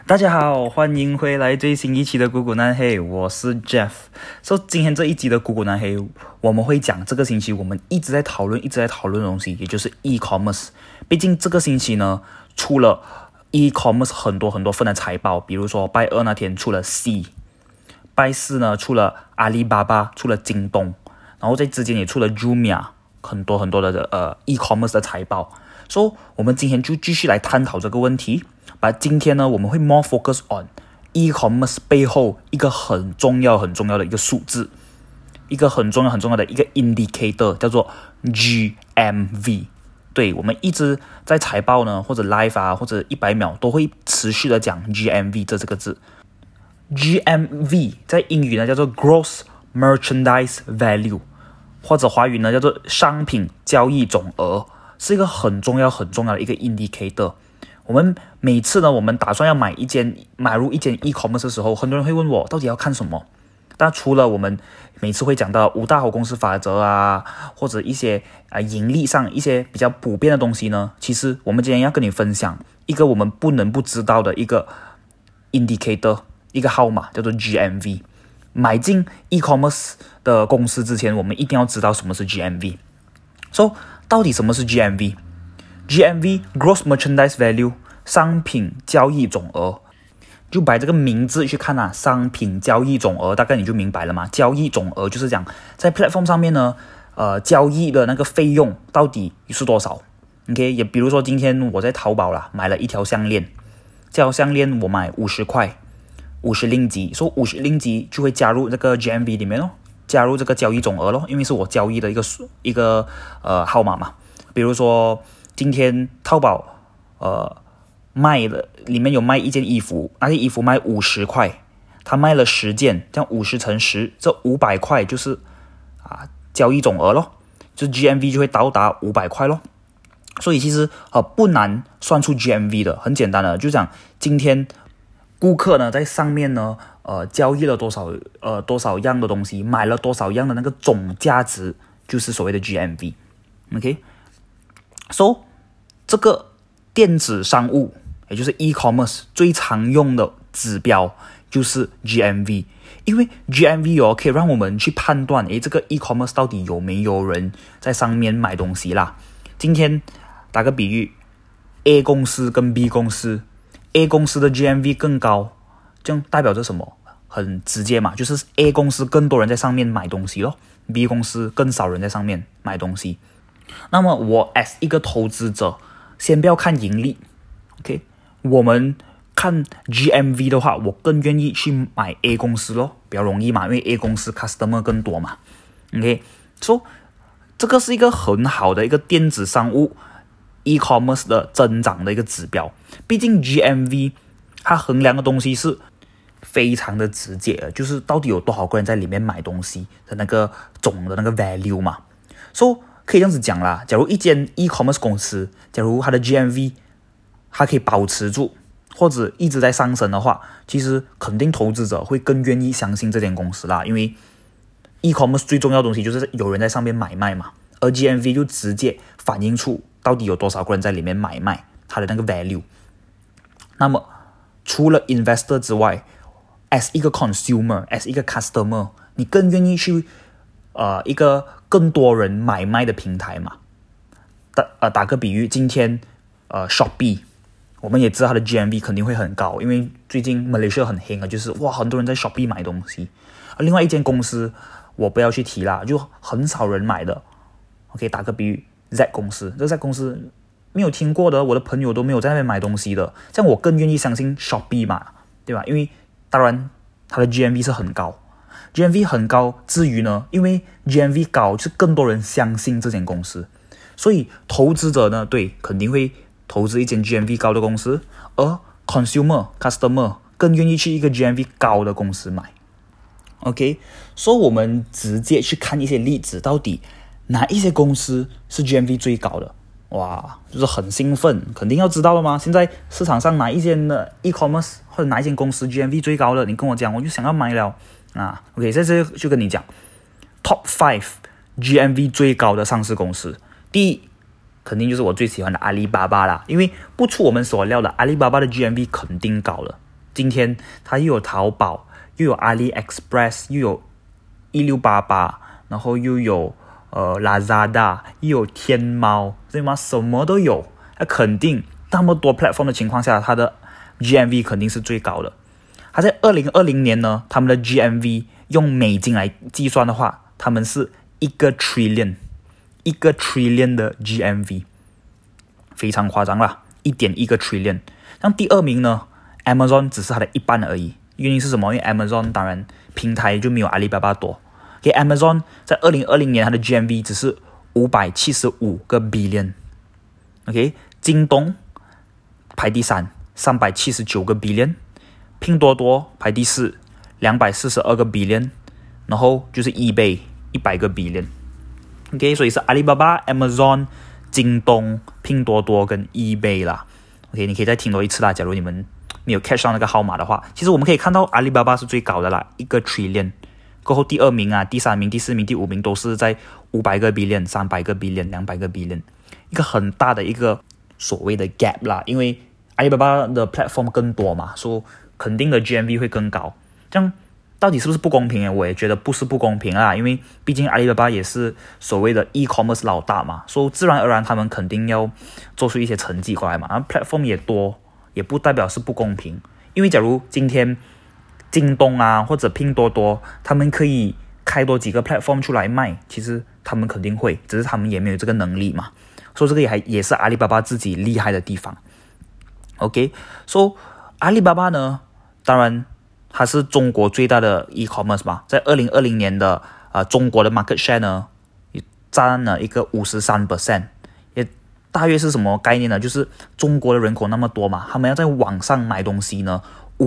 大家好，欢迎回来最新一期的股股南黑，我是 Jeff。今天这一集的股股南黑，我们会讲这个星期我们一直在讨论的东西，也就是 e-commerce。毕竟这个星期呢，出了 e-commerce 很多份的财报，比如说拜二那天出了 C， 拜四呢出了阿里巴巴，出了京东，然后在之间也出了 Jumia， 很多的e-commerce 的财报。我们今天就继续来探讨这个问题。今天呢，我们会 more focus on e-commerce 背后一个很重要的一个数字，一个很重要的一个 indicator， 叫做 GMV。对，我们一直在财报呢，或者 live 啊，或者100秒都会持续的讲 GMV 这个字。GMV 在英语呢叫做 Gross Merchandise Value， 或者华语呢叫做商品交易总额，是一个很重要的一个 indicator。我们每次呢，我们打算要买入一间 e-commerce 的时候，很多人会问我到底要看什么。但除了我们每次会讲到五大好公司法则啊，或者一些盈利上一些比较普遍的东西呢，其实我们今天要跟你分享一个我们不能不知道的一个 indicator， 一个号码叫做 GMV。买进 e-commerce 的公司之前，我们一定要知道什么是 GMV。到底什么是 GMV？GMV Gross Merchandise Value 商品交易总额，就把这个名字去看啊，商品交易总额大概你就明白了嘛。交易总额就是讲在 platform 上面呢，交易的那个费用到底是多少 ？OK， 也比如说今天我在淘宝啦买了一条项链，这条项链我买50块，50令吉，50令吉就会加入这个 GMV 里面咯，加入这个交易总额咯，因为是我交易的一个号码嘛。比如说今天淘宝卖了，里面有卖一件衣服，那件衣服卖50块，他卖了10件，这样50乘10，这500块就是交易总额咯，就 GMV 就会到达500块咯。所以其实不难算出 GMV 的，很简单的，就讲今天顾客呢在上面呢交易了多少样的东西，买了多少样的那个总价值，就是所谓的 GMV。OK， 这个电子商务，也就是 e-commerce 最常用的指标就是 GMV， 因为 GMV 可以让我们去判断，这个 e-commerce 到底有没有人在上面买东西啦。今天打个比喻 ，A 公司跟 B 公司 ，A 公司的 GMV 更高，这样代表着什么？很直接嘛，就是 A 公司更多人在上面买东西咯 ，B 公司更少人在上面买东西。那么我 as 一个投资者，先不要看盈利 ，OK， 我们看 GMV 的话，我更愿意去买 A 公司咯，比较容易嘛，因为 A 公司 customer 更多嘛 ，OK， 这个是一个很好的一个电子商务 e-commerce 的增长的一个指标。毕竟 GMV 它衡量的东西是非常的直接的，就是到底有多少个人在里面买东西的那个总的那个 value 嘛。可以这样子讲啦，假如一间 e-commerce 公司，假如它的 GMV 它可以保持住或者一直在上升的话，其实肯定投资者会更愿意相信这间公司啦，因为 e-commerce 最重要的东西就是有人在上面买卖嘛，而 GMV 就直接反映出到底有多少个人在里面买卖它的那个 value。 那么除了 investor 之外， as 一个 consumer， as 一个 customer， 你更愿意去一个更多人买卖的平台嘛。打个比喻，今天Shopee， 我们也知道它的 GMV 肯定会很高，因为最近 Malaysia 很黑就是很多人在 Shopee 买东西。另外一间公司我不要去提啦，就很少人买的 OK， 打个比喻 Z 公司，这 Z 公司没有听过的，我的朋友都没有在那边买东西的，这样我更愿意相信 Shopee 嘛，对吧？因为当然它的 GMV 是很高，GMV 很高之余呢，因为 GMV 高，就是更多人相信这间公司，所以投资者呢，对，肯定会投资一间 GMV 高的公司，而 customer 更愿意去一个 GMV 高的公司买。OK， 我们直接去看一些例子，到底哪一些公司是 GMV 最高的？哇，就是很兴奋，肯定要知道了吗？现在市场上哪一间的 e-commerce 或者哪一间公司 GMV 最高的，你跟我讲，我就想要买了OK， 在这就跟你讲 Top 5 GMV 最高的上市公司。第一，肯定就是我最喜欢的阿里巴巴啦，因为不出我们所料的，阿里巴巴的 GMV 肯定高了。 今天它又有淘宝，又有 AliExpress， 又有1688，然后又有Lazada， 又有天猫，对吗？什么都有。那肯定那么多 platform 的情况下，它的 GMV 肯定是最高的。它在2020年呢，他们的 GMV 用美金来计算的话，他们是1个 trillion 的 GMV， 非常夸张啦，1.1个 trillion。像第二名呢 ，Amazon 只是它的一半而已。原因是什么？因为 Amazon 当然平台就没有阿里巴巴多。Amazon 在2020年它的 GMV 只是575个 billion。OK， 京东排第3，379个 billion。拼多多排第4，242个 billion， 然后就是 eBay 100个 billion。OK， 所以是阿里巴巴、Amazon、京东、拼多多跟 eBay 啦。OK， 你可以再听多一次啦。假如你们没有 catch 上那个号码的话，其实我们可以看到阿里巴巴是最高的啦，1个 trillion。过后第2名啊、第3名、第4名、第5名都是在500个 billion、300个 billion、200个 billion， 一个很大的一个所谓的 gap 啦。因为阿里巴巴的 platform 更多嘛，所以肯定的 GMV 会更高。这样到底是不是不公平？我也觉得不是不公平啦，因为毕竟阿里巴巴也是所谓的 e-commerce 老大嘛，所以自然而然他们肯定要做出一些成绩过来嘛。然后 platform 也多，也不代表是不公平。因为假如今天京东啊或者拼多多，他们可以开多几个 platform 出来卖，其实他们肯定会，只是他们也没有这个能力嘛。所以这个也是阿里巴巴自己厉害的地方。OK， so 阿里巴巴呢，当然它是中国最大的 e-commerce 嘛，在2020年的中国的 market share 呢，也占了一个 53%， 也大约是什么概念呢？就是中国的人口那么多嘛，他们要在网上买东西呢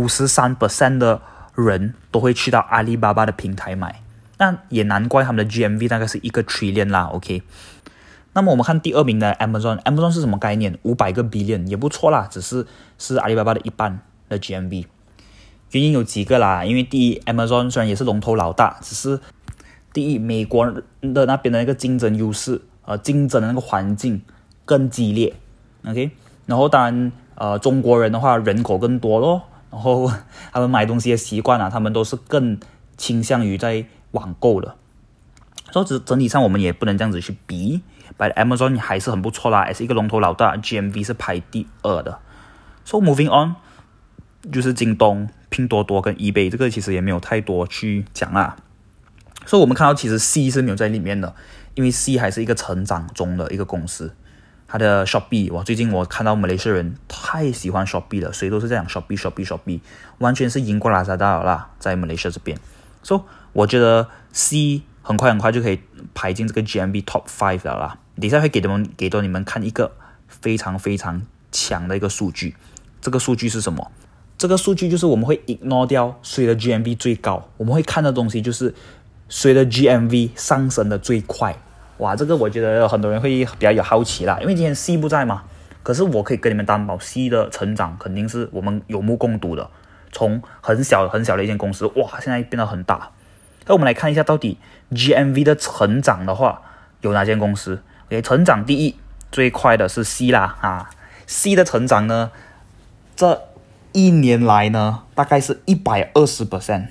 ，53% 的人都会去到阿里巴巴的平台买，那也难怪他们的 GMV 大概是1个 trillion 啦。 OK， 那么我们看第2名的 Amazon 是什么概念？500个 billion 也不错啦，只是阿里巴巴的一半的 GMV。 原因有几个啦，因为第一 Amazon 虽然也是龙头老大，只是第一美国的那边的那个竞争优势，竞争的那个环境更激烈。 OK， 然后当然中国人的话人口更多咯，然后他们买东西的习惯啊，他们都是更倾向于在网购的。所以整体上我们也不能这样子去比，but Amazon 还是很不错啦，也是一个龙头老大， GMV 是排第2的。So moving on， 就是京东、拼多多跟 eBay， 这个其实也没有太多去讲啦。所以我们看到其实 C 是没有在里面的，因为 C 还是一个成长中的一个公司。它的 Shopee， 最近我看到马来西亚人太喜欢 Shopee 了，谁都是这样 Shopee， 完全是赢过 Lazada 了啦，在马来西亚这边。所以我觉得 C 很快就可以排进这个 GMV Top 5了啦。等一下会给到你们看一个非常非常强的一个数据。这个数据是什么？这个数据就是我们会 ignore 掉谁的 GMV 最高，我们会看的东西就是谁的 GMV 上升的最快。哇，这个我觉得很多人会比较有好奇啦，因为今天 C 不在嘛，可是我可以跟你们担保 C 的成长肯定是我们有目共睹的，从很小的一间公司，哇，现在变得很大。那我们来看一下到底 GMV 的成长的话有哪间公司。 OK， 成长第一最快的是 C 啦，C 的成长呢这一年来呢大概是 120%，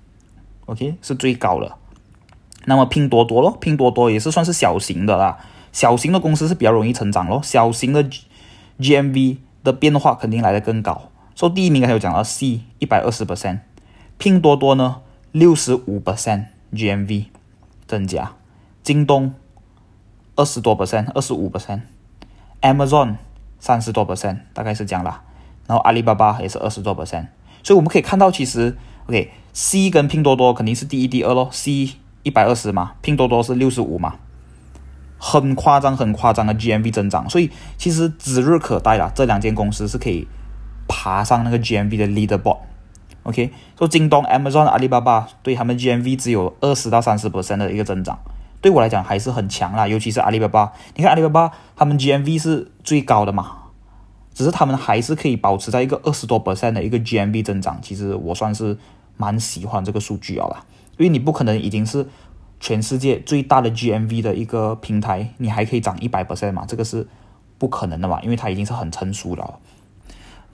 OK， 是最高的。那么拼多多咯，拼多多也是算是小型的啦，小型的公司是比较容易成长咯，小型的 GMV 的变化肯定来得更高。所以第一名还有讲到 C 120%， 拼多多呢 65% GMV 增加，京东20多%、25%， Amazon 30多%，大概是这样啦。然后阿里巴巴也是20多%，所以我们可以看到其实 OK， C 跟拼多多肯定是第一第二咯， C 120嘛，拼多多是65嘛，很夸张的 GMV 增长，所以其实指日可待啦，这两间公司是可以爬上那个 GMV 的 leaderboard。 OK， 所以京东、Amazon、阿里巴巴对他们 GMV 只有20到30% 的一个增长，对我来讲还是很强啦，尤其是阿里巴巴，你看阿里巴巴他们 GMV 是最高的嘛，只是他们还是可以保持在一个20多% 的一个 GMV 增长，其实我算是蛮喜欢这个数据啦，因为你不可能已经是全世界最大的 GMV 的一个平台，你还可以涨 100% 嘛，这个是不可能的嘛，因为它已经是很成熟了。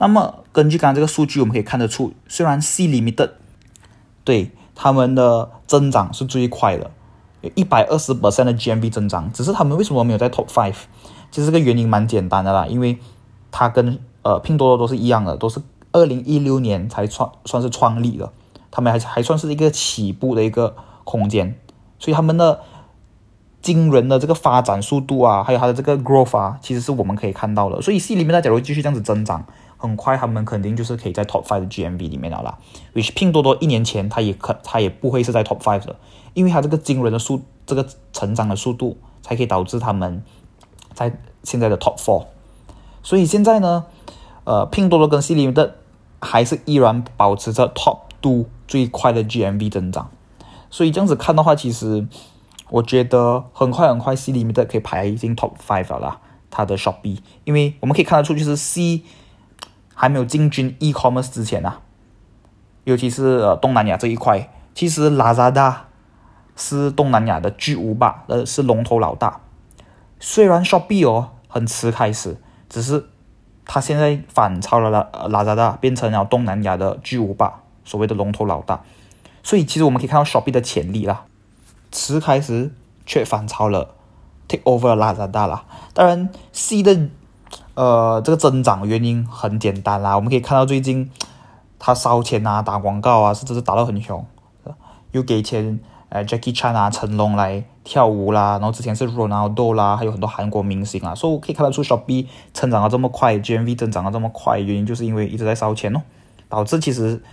那么根据刚刚这个数据，我们可以看得出，虽然 C Limited 对他们的增长是最快的，有120% 的 GMV 增长，只是他们为什么没有在 Top 5？其实这个原因蛮简单的啦，因为它跟拼多多都是一样的，都是2016年才算是创立的，他们还算是一个起步的一个空间，所以他们的惊人的这个发展速度啊，还有它的这个 growth 啊，其实是我们可以看到的。所以系里面假如继续这样子增长，很快他们肯定就是可以在 Top 5的 GMV 里面了啦。which 拼多多1年前它也不会是在 Top 5的，因为它这个惊人的这个成长的速度，才可以导致他们在现在的 Top 4。所以现在呢，拼多多跟系里面的还是依然保持着 Top 2最快的 GMV 增长。所以这样子看的话，其实我觉得很快 C Limited 可以排进 Top 5了啦，它的 Shopee， 因为我们可以看得出，就是 C 还没有进军 e-commerce 之前啊，尤其是东南亚这一块，其实 Lazada 是东南亚的巨无霸，是龙头老大。虽然 Shopee 很迟开始，只是它现在反超了Lazada， 变成了东南亚的巨无霸，所谓的龙头老大。所以其实我们可以看到 Shopee 的潜力啦，迟开始却反超了 take over Lazada 啦。当然 C 的这个增长原因很简单啦，我们可以看到最近他烧钱啊，打广告啊，甚至是打到很凶，又给钱Jackie Chan 啊、成龙来跳舞啦，然后之前是 Ronaldo 啦，还有很多韩国明星啊，所以我可以看得出 Shopee 成长得这么快， GMV 增长得这么快，原因就是因为一直在烧钱导致其实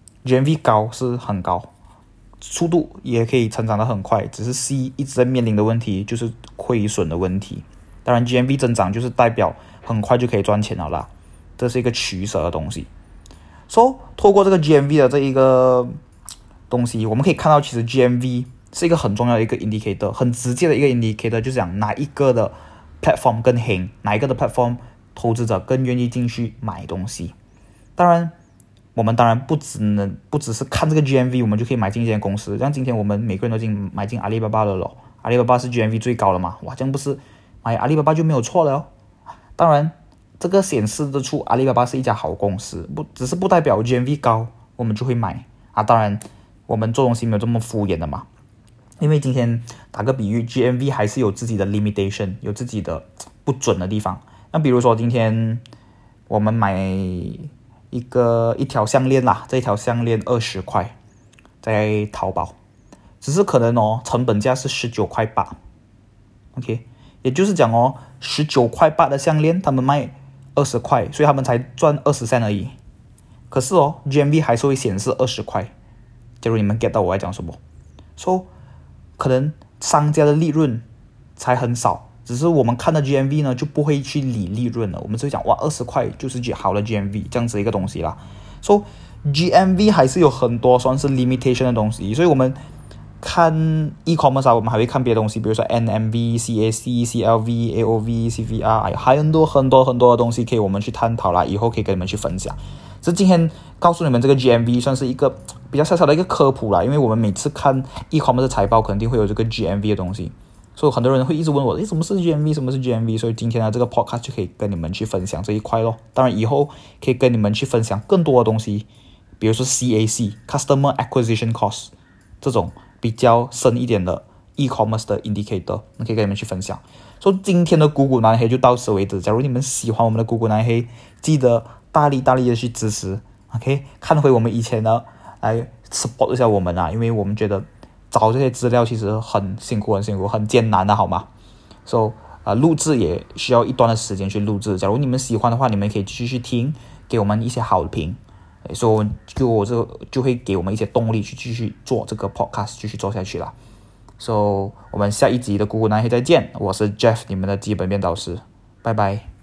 GMV 高是很高，速度也可以成长得很快，只是 C 一直在面临的问题就是亏损的问题。当然 GMV 增长就是代表很快就可以赚钱了啦，这是一个取舍的东西。透过这个 GMV 的这一个东西，我们可以看到其实 GMV 是一个很重要的一个 indicator， 很直接的一个 indicator， 就是讲哪一个的 platform 更行，哪一个的 platform 投资者更愿意进去买东西。我们当然不只是看这个 GMV 我们就可以买进一间公司，像今天我们每个人都买进阿里巴巴了咯，阿里巴巴是 GMV 最高的嘛，哇，这样不是买阿里巴巴就没有错了当然这个显示得出阿里巴巴是一家好公司，只是不代表 GMV 高我们就会买当然我们做东西没有这么敷衍的嘛，因为今天打个比喻 GMV 还是有自己的 limitation， 有自己的不准的地方。那比如说今天我们买一条项链啦，这一条项链20块在淘宝，只是可能成本价是19块8 OK， 也就是讲19块8的项链他们卖20块，所以他们才赚20 cent 而已，可是GMV 还是会显示20块。假如你们 get 到我在讲什么，可能商家的利润才很少，只是我们看到 GMV 呢就不会去理利润了，我们就会讲哇20块就是好的 GMV 这样子一个东西啦。GMV 还是有很多算是 limitation 的东西，所以我们看 e-commerce 我们还会看别的东西，比如说 NMV、CAC、CLV、AOV、CVR， 还有很多的东西可以我们去探讨啦，以后可以跟你们去分享。这今天告诉你们这个 GMV 算是一个比较小小的一个科普啦，因为我们每次看 e-commerce 的财报肯定会有这个 GMV 的东西，所以很多人会一直问我什么是 GMV， 什么是 GMV， 所以今天的这个 podcast 就可以跟你们去分享这一块咯。当然以后可以跟你们去分享更多的东西，比如说 CAC Customer Acquisition Cost 这种比较深一点的 e-commerce 的 indicator， 可以跟你们去分享。今天的股股南黑就到此为止，假如你们喜欢我们的股股南黑，记得大力的去支持 OK， 看回我们以前的来 support 一下我们因为我们觉得找这些资料其实很辛苦很艰难的好吗？录制也需要一段的时间去录制，假如你们喜欢的话，你们可以继续听，给我们一些好评，所以就会给我们一些动力去继续做这个 podcast， 继续做下去啦。我们下一集的股股南黑再见，我是 Jeff， 你们的基本面导师，拜拜。